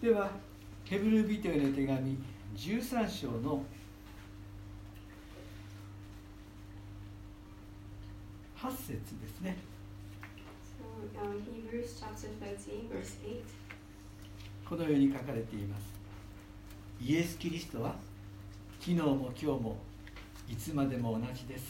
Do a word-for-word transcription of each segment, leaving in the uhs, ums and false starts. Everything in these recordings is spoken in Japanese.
ではヘブル人への手紙じゅうさん章のはち節ですね。 So, um, Hebrews chapter thirteen, verse eight. このように書かれています。イエス・キリストは昨日も今日もいつまでも同じです。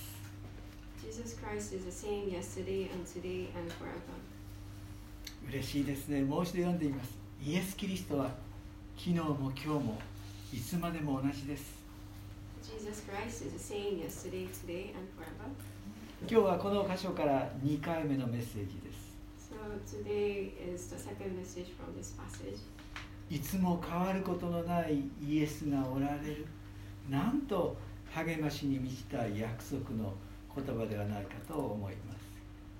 Jesus Christ is the same yesterday and today and forever. 嬉しいですね。もう一度読んでいます。イエス・キリストは昨日も今日もいつまでも同じです。 Jesus Christ is the same yesterday, today and forever. 今日はこの箇所からにかいめのメッセージです。 So today is the second message from this passage. いつも変わることのないイエスがおられる。なんと励ましに満ちた約束の言葉ではないかと思います。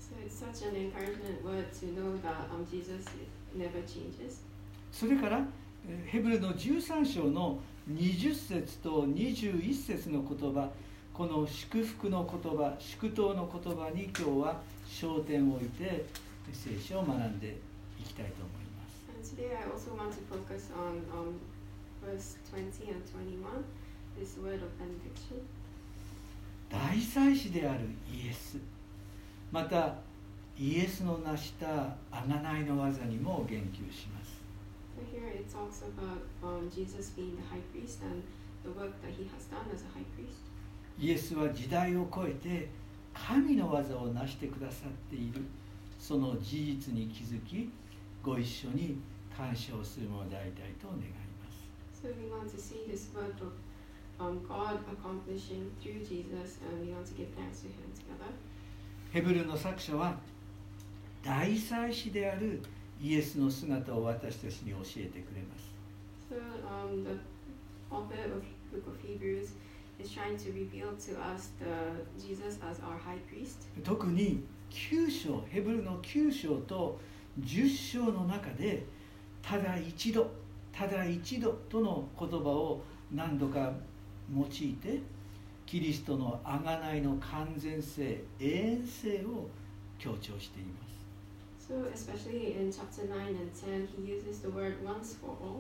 So it's such an encouragement word to know that um, Jesus never changes. それからヘブルのじゅうさん章のにじゅっ節とにじゅういち節の言葉、この祝福の言葉、祝祷の言葉に今日は焦点を置いて聖書を学んでいきたいと思います。 And today I also want to focus on um, verse twenty and twenty-one, this word of benediction. 大祭司であるイエス、またイエスの成した贖いの技にも言及します。 So here it talks about um, Jesus being the high priest and the work that he has done as a high priest. イエスは時代を超えて神の技を成してくださっている、その事実に気づき、ご一緒に感謝をするものでありたいと願います。 So we want to see this work of um, God accomplishing through Jesus, and we want to give thanks to him together. ヘブルの作者は大祭司であるイエスの姿を私たちに教えてくれます。 So um, the author of the book of Hebrews is trying to reveal to us the Jesus as our high priest. 特にきゅう章、ヘブルのきゅう章とじゅっ章の中でただ一度、ただ一度との言葉を何度か用いてキリストの贖いの完全性、永遠性を強調しています。 So especially in chapter nine and ten, he uses the word once for all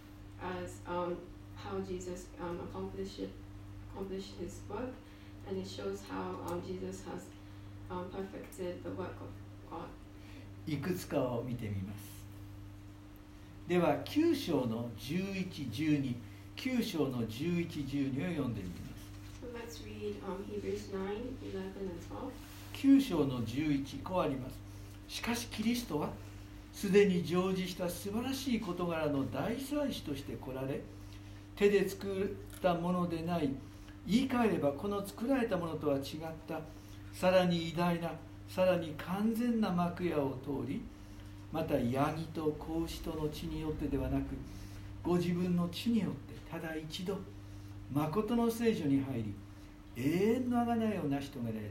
as um, how Jesus um, accomplished, it, accomplished his work, and it shows how um, Jesus has um, perfected the work of God. いくつかを見てみます。ではきゅう章のじゅういち、じゅうに、きゅう章のじゅういち、じゅうにを読んでみます。 So let's read um, Hebrews nine, eleven and twelve. きゅう章のじゅういち、こうあります。しかしキリストはすでに成就した素晴らしい事柄の大祭司として来られ、手で作ったものでない、言い換えればこの作られたものとは違ったさらに偉大な、さらに完全な幕屋を通り、またヤギと子牛との血によってではなく、ご自分の血によってただ一度誠の聖所に入り、永遠の贖いを成し遂げられたのです。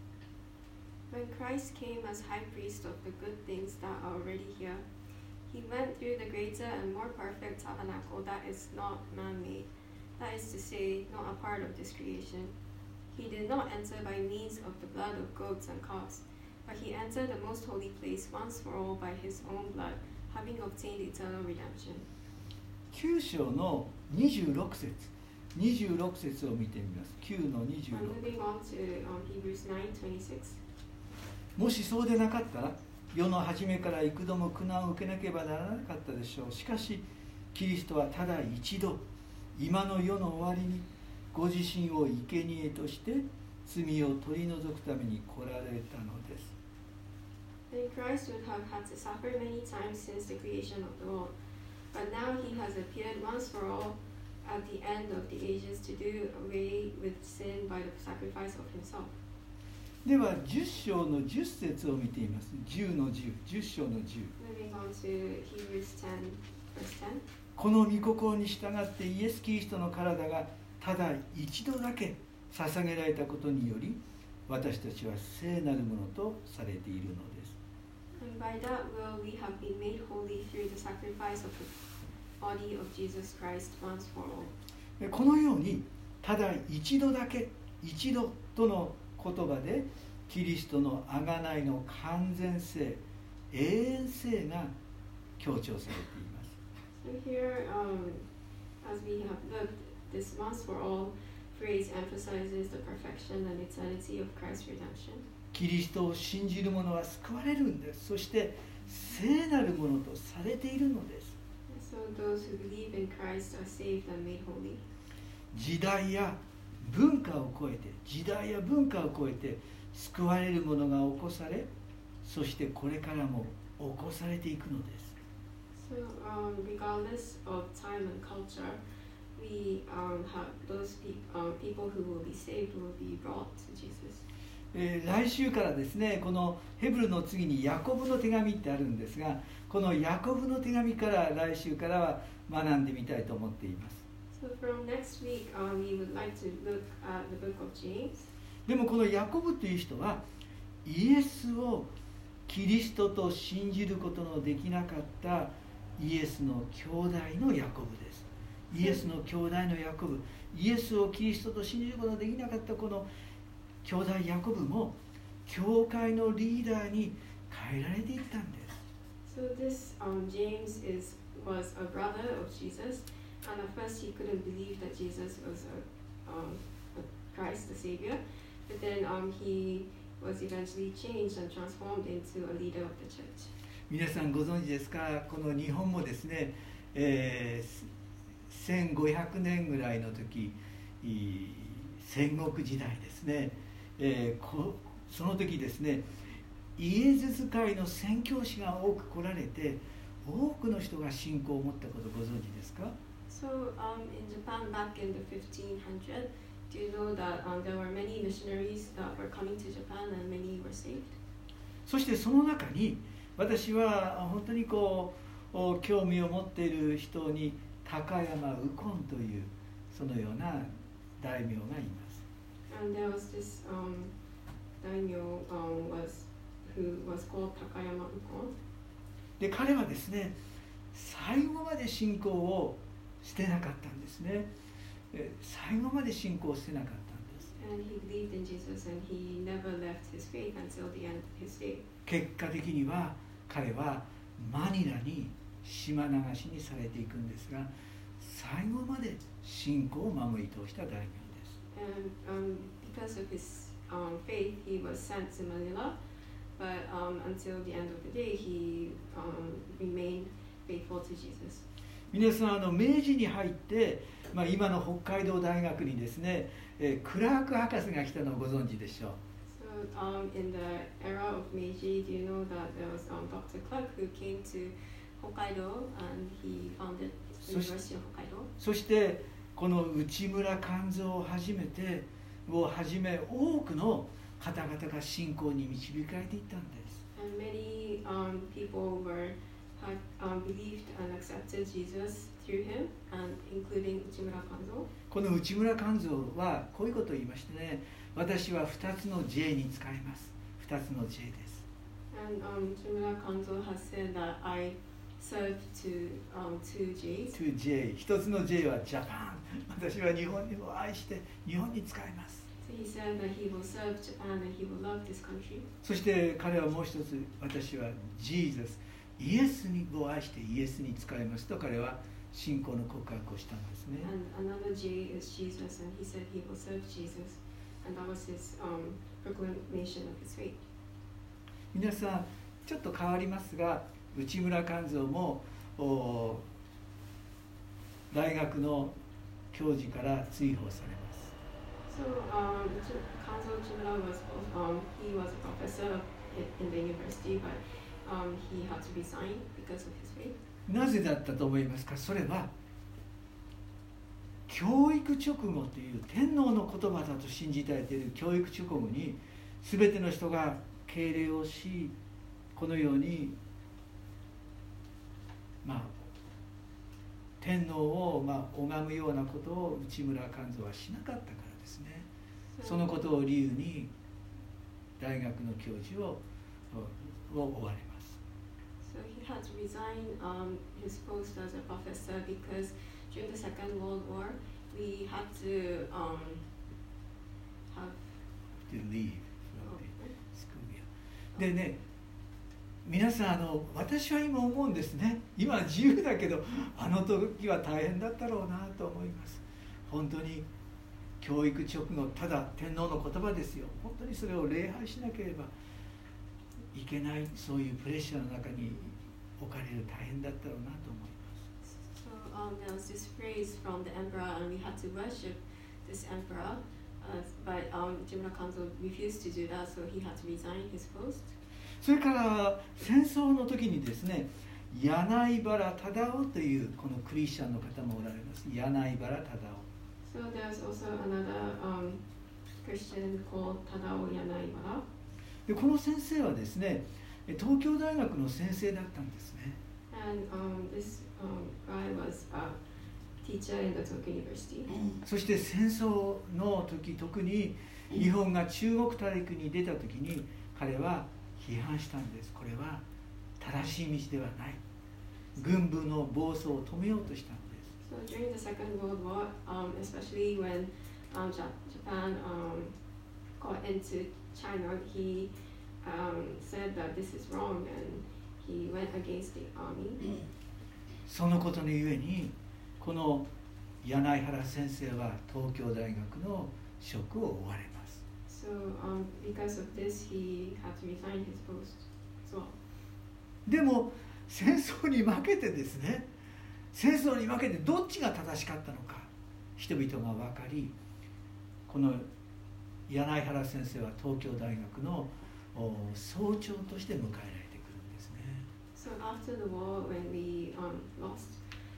When Christ came as high priest of the good things that are already here, he went through the greater and more perfect tabernacle that is not man-made, that is to say, not a part of this creation. He did not enter by means of the blood of goats and calves, but he entered the most holy place once for all by his own blood, having obtained eternal redemption. きゅう章のにじゅうろく節、にじゅうろく節を見てみます。きゅうのにじゅうろく。 I'm moving on to um, Hebrews nine twenty-six. もしそうでなかったら、世の初めから幾度も苦難を受けなければならなかったでしょう。しかし、キリストはただ一度、今の世の終わりに、ご自身を生贄として罪を取り除くために来られたのです。 Then Christ would have had to suffer many times since the creation of the world, but now he has appeared once for all at the end of the ages to do away with sin by the sacrifice of himself. ではじゅっ章のじゅっ節を見ています。じゅうのじゅう、じゅっ章のじゅう。 Moving on to Hebrews ten, verse ten. この御心に従ってイエス・キリストの体がただ一度だけ捧げられたことにより、私たちは聖なるものとされているのです。 And by that will we have been made holy through the sacrifice of the body of Jesus Christ once for all. このようにただ一度だけ、一度との言葉でキリストの贖いの完全性、永遠性が強調されています。 So here, um, as we have looked, this once for all phrase emphasizes the perfection and eternity of Christ's redemption. キリストを信じる者は救われるんです。そして聖なるものとされているのです。 So those who believe in Christ are saved and made holy. 時代や文化を超えて、時代や文化を超えて救われるものが起こされ、そしてこれからも起こされていくのです。 So, um, regardless of time and culture, we um, have those pe- um, people who will be saved will be brought to Jesus. えー、来週からですね、このヘブルの次にヤコブの手紙ってあるんですが、このヤコブの手紙から来週からは学んでみたいと思っています。 So from next week, um, we would like to look at the book of James. でもこのヤコブという人はイエスをキリストと信じることのできなかったイエスの兄弟のヤコブです。イエスの兄弟のヤコブ、イエスをキリストと信じることのできなかったこの兄弟ヤコブも教会のリーダーに変えられていったんです。 So this um, James is was a brother of Jesus, and at first he couldn't believe that Jesus was a, um, a Christ, the Savior. But then um, he was eventually changed and transformed into a leader of the church. 皆さんご存知ですか、この日本もですね、えー、せんごひゃくねんぐらいの時、戦国時代ですね、えー、こその時ですね、イエズス会の宣教師が多く来られて、多くの人が信仰を持ったことをご存知ですか？ So um, in Japan back in the fifteen hundreds, do you know that um, there were many missionaries that were coming to Japan and many were saved? そしてその中に私は本当にこう興味を持っている人に高山右近というそのような大名がいます。 And there was this um, daimyo um, was who was called Takayama Ukon. で彼はですね、最後まで信仰を捨てなかったんですね。最後まで信仰を捨てなかったんです。 And he believed in Jesus and he never left his faith until the end of his day. 結果的には彼はマニラに島流しにされていくんですが、最後まで信仰を守り通した大名です。 And um, because of his um, faith, he was sent to Manila, but um, until the end of the day, he um, remained faithful to Jesus. 皆さん、あの明治に入って、まあ、今の北海道大学にですね、えー、クラーク博士が来たのをご存知でしょう。 So um, in the era of Meiji, do you know that there was um, Doctor Clark who came to Hokkaido and he founded the University of Hokkaido. そしてこの内村勘三をはじめてをはじめ多くの方々が信仰に導かれていったんです。 And many um, people were had um, believed and accepted Jesus through him, and including Uchimura Kanzo. この内村勘三はこういうことを言いましてね、私はふたつの J に使います。ふたつの J です。 And um, Uchimura Kanzo has said that I serve to um, two J's. two J。ひとつの J はジャパン。私は日本を愛して日本に使います。 So he said that he will serve Japan and he will love this country. そして彼はもう一つ、私は Jesus、イエスにを愛してイエスに使いますと彼は信仰の告白をしたんですね。 And another J is Jesus, and he said he will serve Jesus, and that was his um, proclamation of his faith. 皆さん、ちょっと変わりますが、内村勘三も大学の教授から追放されます。 So um, Kanzo Uchimura was um, he was a professor in the university, but um, he had to resign because of his faith. なぜだったと思いますか？それは教育直後という天皇の言葉だと信じられている教育直後に全ての人が敬礼をし、このようにまあ天皇をまあ拝むようなことを内村勘三はしなかったからですね。そのことを理由に大学の教授をを追われます。 So he had to resign um, his post as a professor because during the Second World War we had to um, have to leave from the school. でね、 皆さん、あの私は今思うんですね。今は自由だけど、あの時は大変だったろうなと思います。本当に教育直後、ただ天皇の言葉ですよ。本当にそれを礼拝しなければいけない、そういうプレッシャーの中に置かれる、大変だったろうなと思います。 So um, there was this phrase from the emperor, and we had to worship this emperor, uh, but um, Jimra Kanzo refused to do that, so he had to resign his post. それから戦争の時にですね、柳原忠夫というこのクリスチャンの方もおられます。柳原忠夫。 So there's also another um, Christian called Tadao Yanaibara. でこの先生はですね、東京大学の先生だったんですね。 And um, this um, guy was a teacher in the Tokyo University. そして戦争の時、特に日本が中国大陸に出た時に彼は批判したんです。これは正しい道ではない。軍部の暴走を止めようとしたんです。 So during the Second World War, um, especially when um, Japan um, got into China, he um, said that this is wrong, and he went against the army. そのことのゆえに、この柳原先生は東京大学の職を追われます。 So um, because of this, he had to resign his post as well. でも戦争に負けてですね、戦争に負けてどっちが正しかったのか、人々が分かり、この柳原先生は東京大学の総長として迎えられてくるんですね。 So after the war, when we um, lost,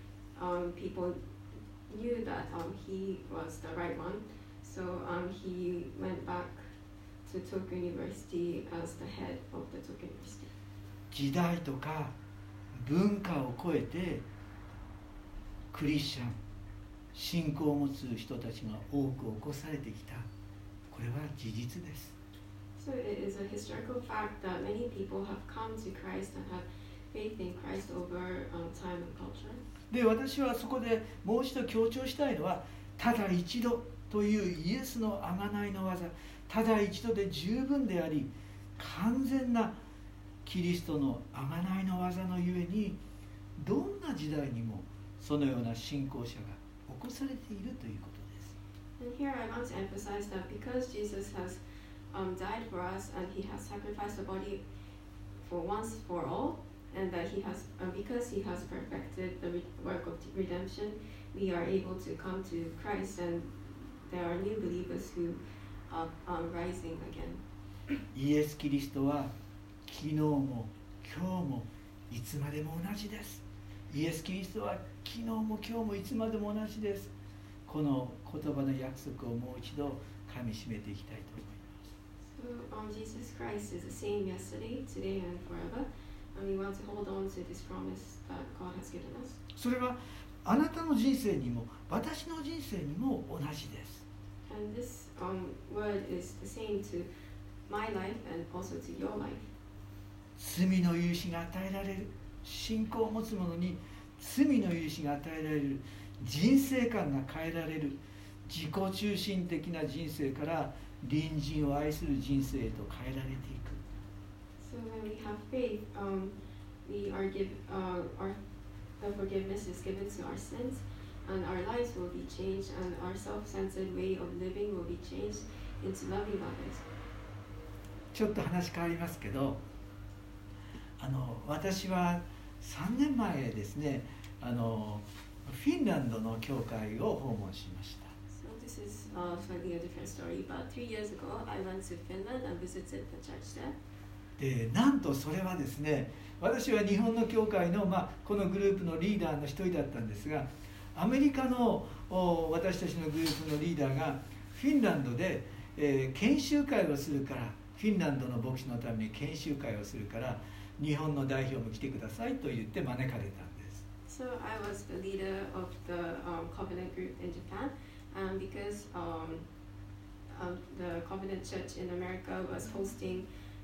um, people knew that um, he was the right one. So um, he went back to Tokyo University as the head of the Tokyo University. 時代とか文化を超えてクリスチャン、信仰を持つ人たちが多く起こされてきた。これは事実です。 So it is a historical fact that many people have come to Christ and have faith in Christ over um, time and culture. で、私はそこでもう一度強調したいのは、ただ一度というイエスの贖いの技、ただ一度で十分であり、完全なキリストの贖いの技のゆえに、どんな時代にもそのような信仰者が起こされているということです。 And here I want to emphasize that because Jesus has um, died for us and he has sacrificed the body for once for all, and that he has, um, because he has perfected the re- work of redemption, we are able to come to Christ, and there are new believers who are um, rising again. イエス・キリストは昨日も今日もいつまでも同じです。イエス・キリストは昨日も今日もいつまでも同じです。この言葉の約束をもう一度噛み締めていきたいと思います。 So um, Jesus Christ is the same yesterday, today, and forever, and we want to hold on to this promise that God has given us. それはあなたの人生にも私の人生にも同じです。 And this um, word is the same to my life and also to your life. 罪の許しが与えられる、信仰を持つ者に罪の許しが与えられる、人生観が変えられる、自己中心的な人生から隣人を愛する人生へと変えられていく。 So when we have faith, um, we are give, uh, our the forgiveness is given to our sins, and our lives will be changed, and our self-centered way of living will be changed into loving others. ちょっと話変わりますけど、あの私はさんねんまえですね、あのフィンランドの教会を訪問しました。 So this is uh, slightly a different story, but three years ago I went to Finland and visited the church there. でなんとそれはですね、私は日本の教会の、まあ、このグループのリーダーの一人だったんですが、アメリカの私たちのグループのリーダーがフィンランドで、えー、研修会をするから、フィンランドの牧師のために研修会をするから日本の代表も来てくださいと言って招かれたんです。 So I was the leader of the um, Covenant group in Japan, and because um, um, the Covenant Church in America was hosting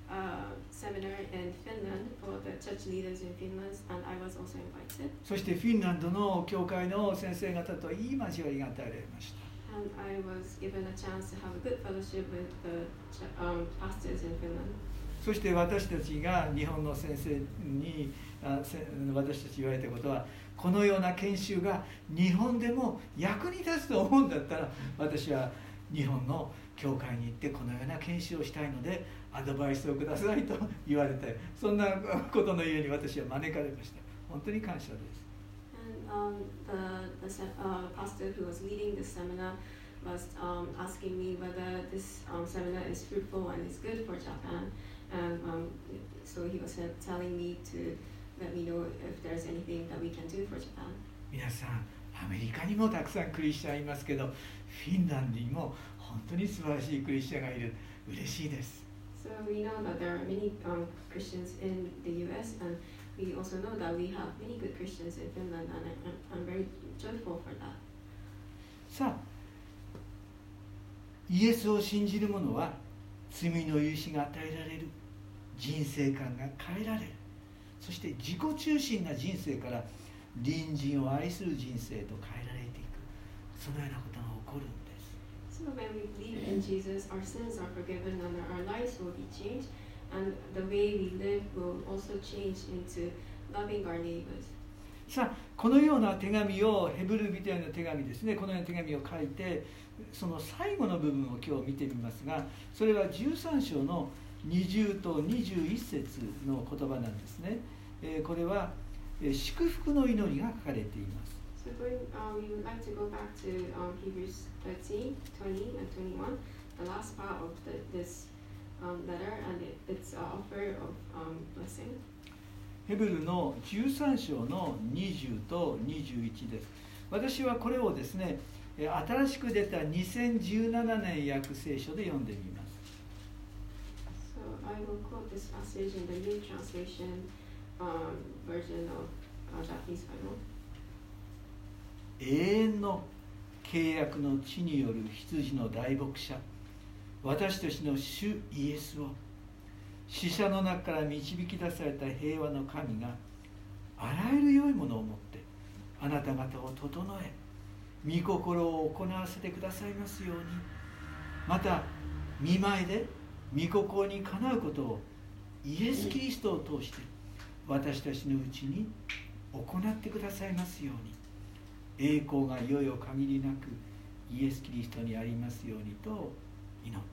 a seminar in Finland for the church leaders in Finland, and I was also invited. そしてフィンランドの教会の先生方といい交わりが与えられました。 And I was given a chance to have a good fellowship with the um, pastors in Finland. そして私たちが日本の先生にあ私たち言われたことは、このような研修が日本でも役に立つと思うんだったら、私は日本の教会に行ってこのような研修をしたいのでアドバイスをくださいと言われて、そんなことの家に私は招かれました。本当に感謝です。 And um, the, the uh, pastor who was leading this seminar was um, asking me whether this um, seminar is fruitful and is good for Japan. And um, so he was telling me to let me know if there's anything that we can do for Japan. 皆さん、アメリカにもたくさんクリスチャンいますけど、フィンランドにも本当に素晴らしいクリスチャンがいる。嬉しいです。 So we know that there are many um, Christians in the U S, and we also know that we have many good Christians in Finland, and I, I'm very joyful for that. さあ、イエスを信じる者は罪の許しが与えられる、人生観が変えられる、そして自己中心な人生から隣人を愛する人生と変えられていく、そのようなことが起こるんです。 So when we believe in Jesus, our sins are forgiven and our lives will be changed, and the way we live will also change into loving our neighbors. さあ、このような手紙を、ヘブル人への手紙ですね、このような手紙を書いて、その最後の部分を今日見てみますが、それはじゅうさん章のにじゅうとにじゅういち節の言葉なんですね。えー、これは、えー、祝福の祈りが書かれています。 So going, uh, we would like to go back to um, Hebrews thirteen, twenty, and twenty-one, the last part of the, this um, letter, and it, it's an offer of um, blessing. ヘブルのじゅうさん章のにじゅうとにじゅういちです。私はこれをですね、新しく出たにせんじゅうななねん訳聖書で読んでみます。 So I will quote this passage in the New Translation um, version of uh, Japanese Bible. 永遠の契約の地による羊の大牧者、私たちの主イエスを、死者の中から導き出された平和の神があらゆる良いものをもってあなた方を整え、御心を行わせてくださいますように、また御前で御心にかなうことをイエス・キリストを通して私たちのうちに行ってくださいますように、栄光がいよいよ限りなくイエス・キリストにありますようにと祈っています。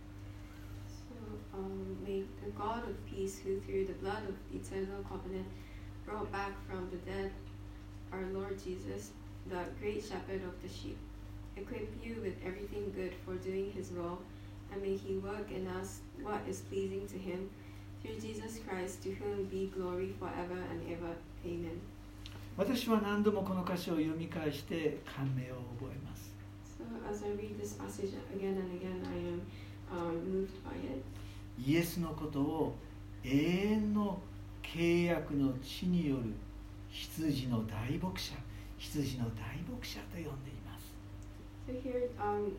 So, um, may the God of peace, who through the blood of the eternal covenant brought back from the dead our Lord Jesus, the great shepherd of the sheep, equip you with everything good for doing his will, and may he work in us what is pleasing to him, through Jesus Christ, to whom be glory forever and ever. Amen. 私は何度もこの箇所を読み返して感銘を覚えます。 So as I read this passage again and again, I am um, moved by it. イエスのことを永遠の契約の地による羊の大牧者、羊の大牧者と呼んでいます。 So here, um,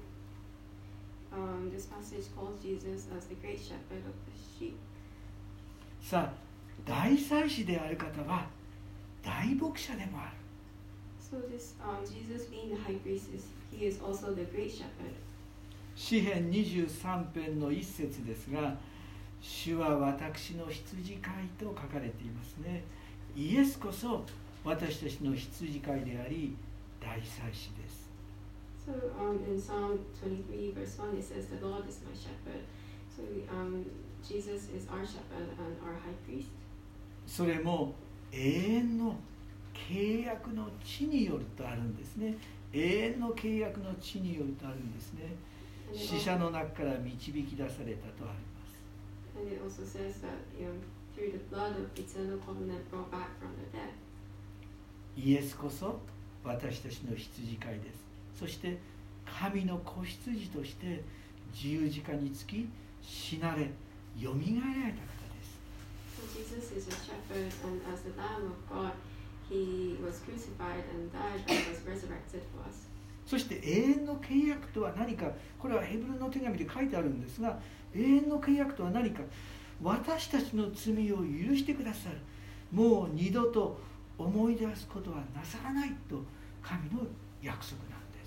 um, this passage calls Jesus as the great shepherd of the sheep. さあ、大祭司である方は大牧者でもある。 So this, um, Jesus being the high priest, is, he is also the great shepherd. 詩編にじゅうさん編の一節ですが、主は私の羊飼いと書かれていますね。イエスこそ私たちの羊飼いであり、大祭司です。 So um, in Psalm twenty-three verse one it says, the Lord is my shepherd. So um, Jesus is our shepherd and our high priest. それも永遠の契約の地によるとあるんですね。永遠の契約の地によるとあるんですね。死者の中から導き出されたとあります。 And it also says that um, through the blood of eternal covenant brought back from the dead. イエスこそ私たちの羊飼いです。そして神の子羊として十字架につき死なれよみがえられた方です。 So Jesus is a shepherd, and as the Lamb of God, he was crucified and died and was resurrected for us. そして永遠の契約とは何か、これはヘブルの手紙で書いてあるんですが、永遠の契約とは何か、私たちの罪を許してくださる、もう二度と思い出すことはなさらないと神の約束なんです。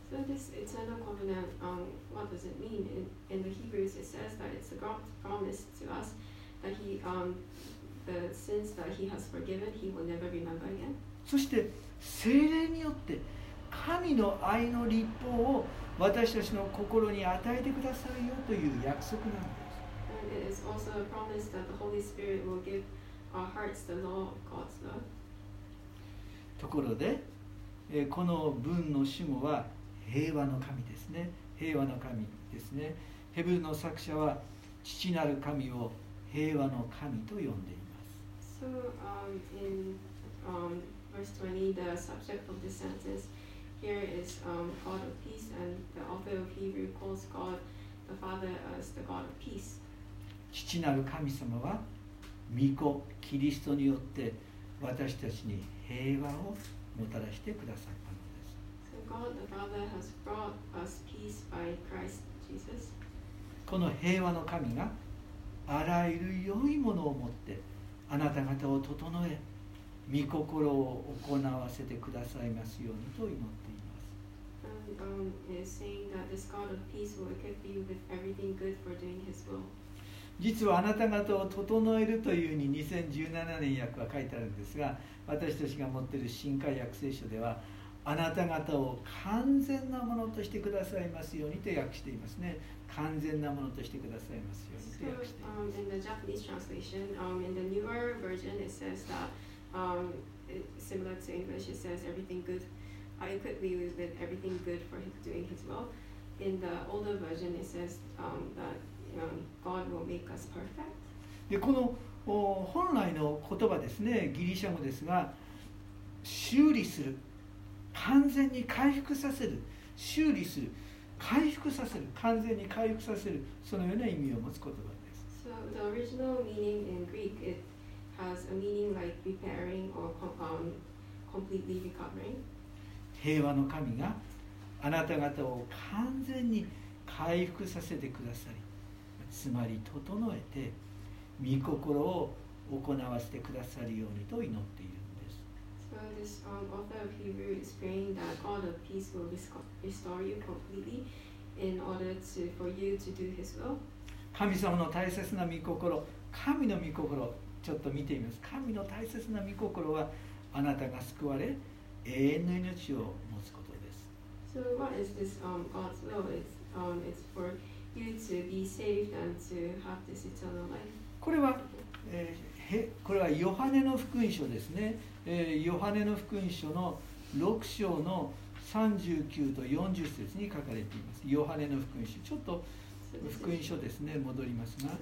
So this eternal covenant, um, what does it mean? In, in the Hebrews, it says that it's God's promise to us that He, um, the sins that He has forgiven, He will never remember again. そして聖霊によって神の愛の律法を私たちの心に与えてくださるよという約束なんです。 And it is also a promise that the Holy Spirit will give our hearts the law of God's love. ところで、えー、この文の主語は平和の神ですね。平和の神ですね。ヘブルの作者は父なる神を平和の神と呼んでいます。 So, um, in um, verse twenty, the subject of this sentence here is um, God of peace, and the author of Hebrew calls God the Father as the God of peace. 父なる神様は御子キリストによって私たちに平和をもたらしてくださったのです。 So God the Father has brought us peace by Christ Jesus. この平和の神があらゆる良いものをもってあなた方を整え、御心を行わせてくださいますようにと祈っています。 And um, is saying that this God of peace will equip you with everything good for doing His will. 実はあなた方を整えるというふうににせんじゅうななねん訳は書いてあるんですが、私たちが持っている新海訳聖書ではあなた方を完全なものとしてくださいますようにと訳していますね。完全なものとしてくださいますようにと訳しています。 So, um, in the Japanese translation, um, in the newer version, it says that, um, it, similar to English, it says everything good. I equip you with everything good for doing His will. In the older version, it says um, that um, God will make us perfect. でこの本来の言葉ですね、ギリシャ語ですが、修理する、完全に回復させる、修理する、回復させる、完全に回復させる、そのような意味を持つ言葉です。 So the original meaning in Greek, it has a meaning like repairing or um, completely recovering. 平和の神があなた方を完全に回復させてくださり、つまり整えて御心を行わせてくださるようにと祈っているんです。 So this um, author of Hebrew is praying that God of peace will restore you completely in order to for you to do His will. 神様の大切な御心、神の御心、ちょっと見てみます。神の大切な御心はあなたが救われ永遠の命を持つことです。 So what is this um, God's will? It's, um, it's for you to be saved and to have this eternal life. これは、えー、へこれはヨハネの福音書ですね。えー、ヨハネの福音書のろく章のさんじゅうきゅうとよんじゅう節に書かれています。ヨハネの福音書、ちょっと福音書ですね、戻りますが。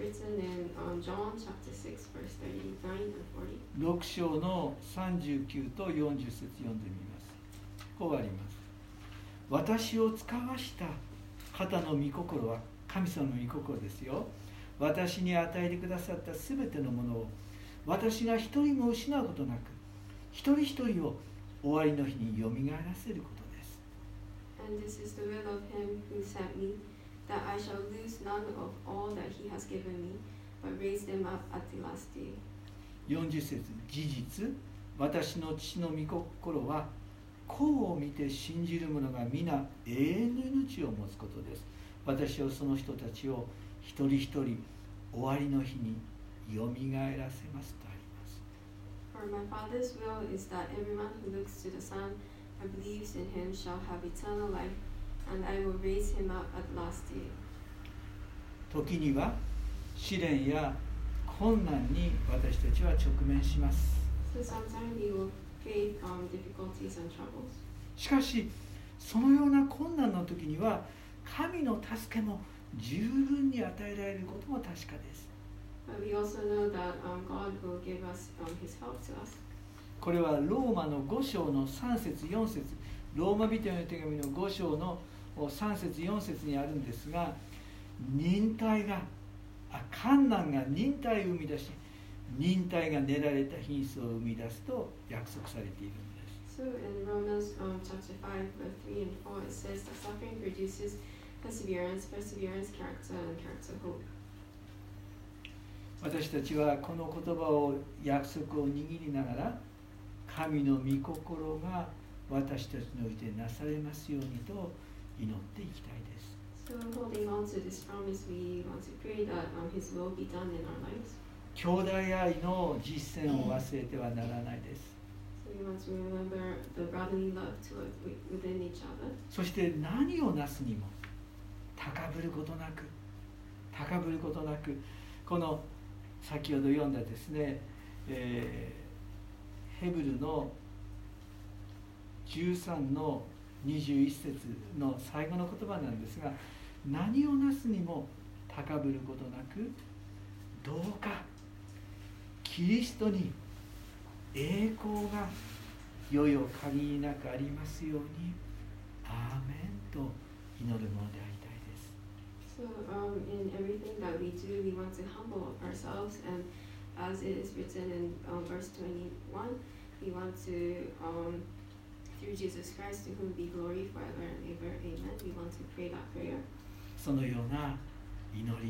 ろく章のさんじゅうきゅうとよんじゅう節読んでみます。こうあります。私を使わした方の御心は神様の御心ですよ。私に与えてくださったすべてのものを私が一人も失うことなく、一人一人を終わりの日によみがえらせることです。 And this is the will of him who sent me, that I shall lose none of all that he has given me, but raise them up at the last day. よんじゅう節、事実、私の父の御心は、子を見て信じる者が皆永遠の命を持つことです。私はその人たちを一人一人終わりの日によみがえらせますとあります。 For my Father's will is that everyone who looks to the Son and believes in him shall have eternal life, and I will raise him up at the last day. 時には試練や困難に私たちは直面します。 So sometimes we will face um, difficulties and troubles. しかし、そのような困難の時には神の助けも十分に与えられることも確かです。 But we also know that um, God will give us um, His help to us. これはローマのご章のさん節よん節、ローマ人への手紙のご章のさん節よん節にあるんですが、忍耐があ困難が忍耐を生み出し、忍耐が練られた品質を生み出すと約束されているんです。 So in Romans um, chapter five, verse three and four, it says that suffering produces perseverance, perseverance, character, and character, hope. 私たちはこの言葉を約束を握りながら、神の御心が私たちにおいてなされますようにと祈っていきたいです。 So holding on to this promise, we want to pray that um, His will be done in our lives. 兄弟愛の実践を忘れてはならないです。 So we want to remember the brotherly love to within each other. そして何をなすにも高ぶることなく高ぶることなく、この先ほど読んだですね、えー、ヘブルのじゅうさんのにじゅういち節の最後の言葉なんですが、何をなすにも高ぶることなく、どうかキリストに栄光がよよ限りなくありますように、アーメンと祈るものでありたいです。 So um, in everything that we do, we want to humble ourselves, and as it is written in um, verse twenty-one, we want to, um, through Jesus Christ, to whom be glory forever and ever, amen. We want to pray that prayer. そのような祈り、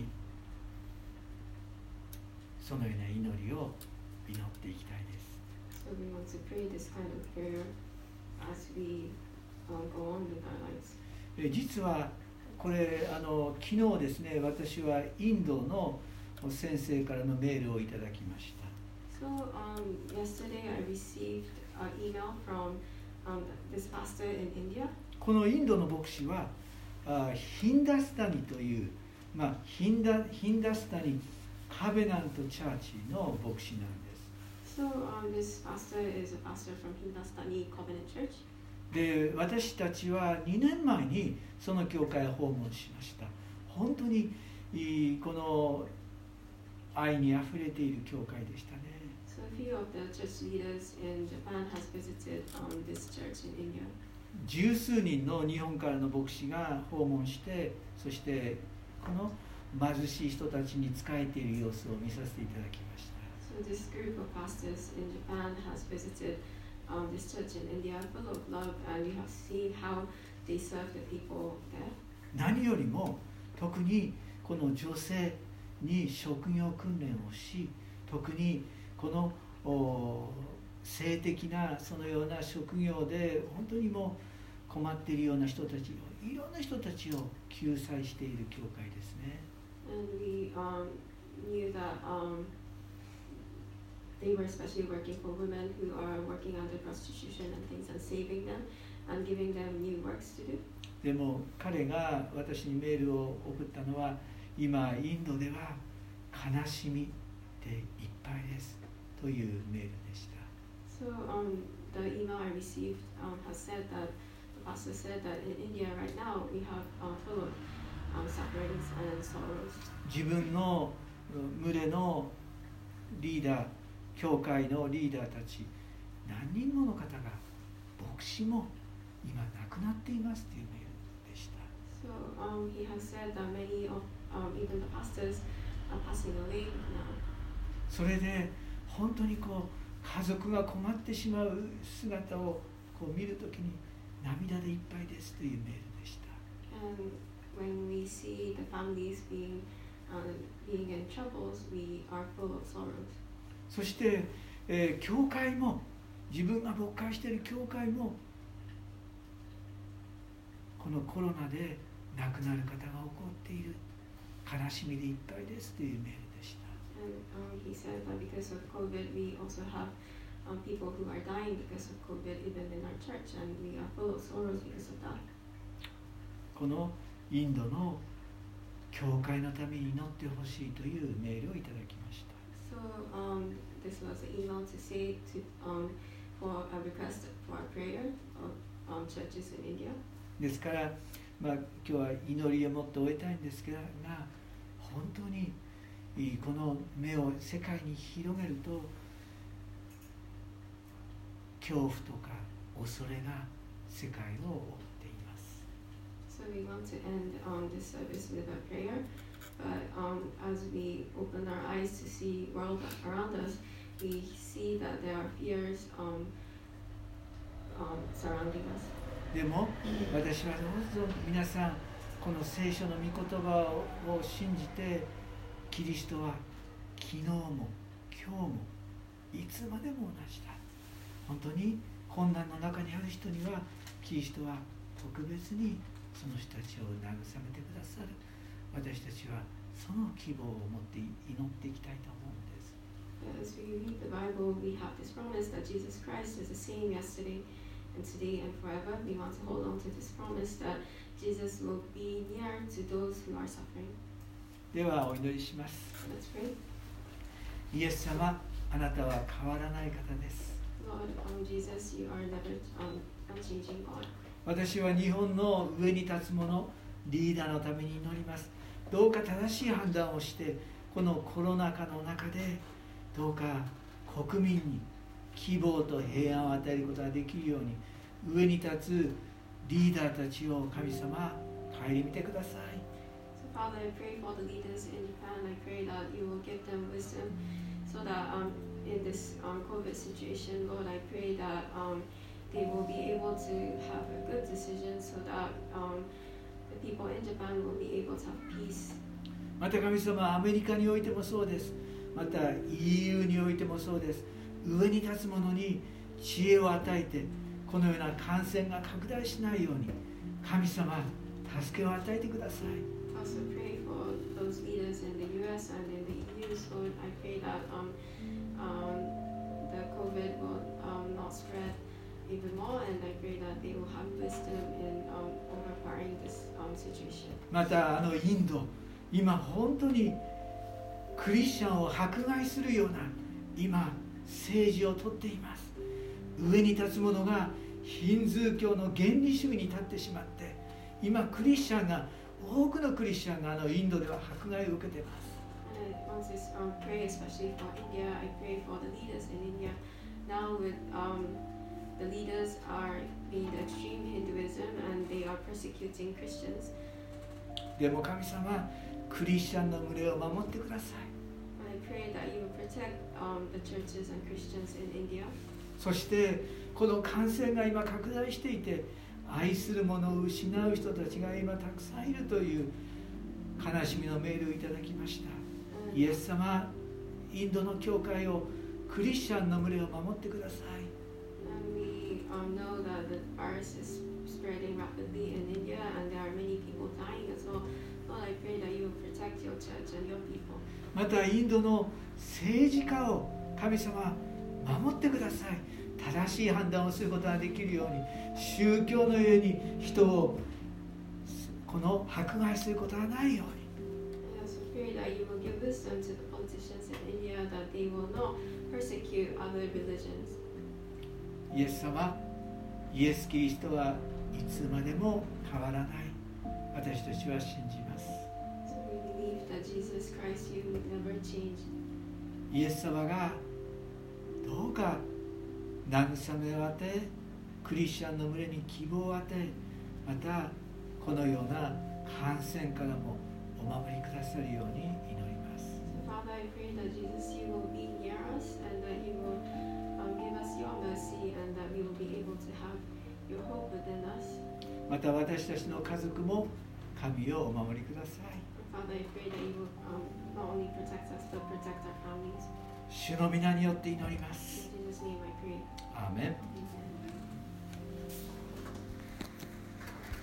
そのような祈りを祈っていきたいです。 So we want to pray this kind of prayer as we um, go on with our lives. え実はこれあの昨日ですね、私はインドの先生からのメールをいただきました。 So um, yesterday I received an email from um, this pastor in India. このインドの牧師はあヒンダスタニという、まあ、ヒンダ、ヒンダスタニカベナントチャーチの牧師なんです。 So um, this pastor is a pastor from Hindustani Covenant Church. で、私たちはにねんまえにその教会を訪問しました。本当にいいこの愛にあふれている教会でしたね。 So a few of the church leaders in Japan has visited um, this church in India. 十数人の日本からの牧師が訪問して、そしてこの貧しい人たちに仕えている様子を見させていただきました。 So this group of pastors in Japan has visited um, this church in India, full of love, and we have seen how they serve the people there. 何よりも特にこの女性に職業訓練をし、特にこの性的なそのような職業で本当にもう困っているような人たちを、いろんな人たちを救済している教会ですね。 And we um, knew that um, they were especially working for women who are working under prostitution and things, and saving them and giving them new works to do. でも彼が私にメールを送ったのは、今インドでは悲しみでいっぱいですというメールでした。 So um, the email I received um, has said that the pastor said that in India right now we have um, full of um, sufferings and sorrows. 自分の群れのリーダー、教会のリーダーたち何人もの方が牧師も今亡くなっていますというメールでした。 So um, he has said that many of um, even the pastors are passing away now. それで本当にこう家族が困ってしまう姿をこう見るときに涙でいっぱいですというメールでした。 And when we see the families being um, being in troubles, we are full of sorrows. そして、えー、教会も自分が牧会している教会もこのコロナで亡くなる方が起こっている、悲しみでいっぱいですというメールでした。 And um, he said that because of COVID, we also have um, people who are dying because of COVID, even in our church, and we are full of sorrows because of that. このインドの教会のために祈ってほしいというメールをいただきました。 So um, this was an email to say to um, for a request for a prayer of um, churches in India. ですから、まあ、今日は祈りを持って終えたいんですが、本当にこの目を世界に広げると恐怖とか恐れが世界を覆っています。 So we want to end um, this service with a prayer, but um, as we open our eyes to see world around us, we see that there are fears um, um, surrounding us. でも私はどうぞ皆さんこの聖書の御言葉を信じて、キリストは昨日も今日もいつまでも同じだ。本当に困難の中にある人にはキリストは特別にその人たちを慰めてくださる。私たちはその希望を持って祈っていきたいと思うんです。 As we read the Bible, we have this promise that Jesus Christ is the same yesterday and today and forever. We want to hold on to this promise that Jesus will be near to those who are suffering. ではお祈りします。 Let's pray. イエス様、あなたは変わらない方です。 Lord, um, Jesus, you are never um, unchanging God. 私は日本の上に立つ者、リーダーのために祈ります。どうか正しい判断をして、このコロナ禍の中でどうか国民に希望と平安を与えることができるように、上に立つリーダーたちを神様、顧みてください。 So Father, I pray for the leaders in Japan. I pray that you will give them wisdom so that um, in this um, COVID situation, Lord, I pray that um, they will be able to have a good decision so that um, the people in Japan will be able to have peace. また神様、アメリカにおいてもそうです。また イーユー においてもそうです。上に立つ者に知恵を与えて、このような感染が拡大しないように神様、助けを与えてください。 Also pray for those leaders in the U S and in the E U. Lord, I pray that um, um, the COVID will um, not spread even more, and I pray that they will have wisdom in um, overpowering this um, situation. またあのインド、今本当にクリスチャンを迫害するような今政治をとっています。上に立つ者がヒンズー教の原理主義に立ってしまって、今クリスチャンが多くのクリスチャンがあのインドでは迫害を受けています。 And I want to um, pray especially for India. I pray for the leaders in India. Now with um, the leaders are in the extreme Hinduism and they are persecuting Christians. でも神様、クリスチャンの群れを守ってください。 I pray that you will protect um, the churches and Christians in India. そしてこの感染が今拡大していて、愛する者を失う人たちが今たくさんいるという悲しみのメールをいただきました。イエス様、インドの教会をクリスチャンの群れを守ってください。 And we um, know that the virus is spreading rapidly in India and there are many people dying as well. Lord, I pray that you will protect your church and your people. またインドの政治家を神様守ってください。正しい判断をすることができるように、宗教の上に人をこの迫害することがないように。 I also pray that you will give wisdom to the politicians in India that they will not persecute other religions. イエス様、イエス・キリストはいつまでも変わらない。私たちは信じます。 So we believe that Jesus Christ, you will never change. イエス様がどうか慰めを与え、クリスチャンの群れに希望を与え、またこのような感染からもお守りくださるように祈ります。 So Father, I pray that Jesus, you will be near us and that you will um, give us your mercy and that we will be able to have your hope within us. また私たちの家族も神をお守りください。 And Father, I pray that you will um, not only protect us but protect our families. 主の皆によって祈ります。 In Jesus' name I pray. アーメン。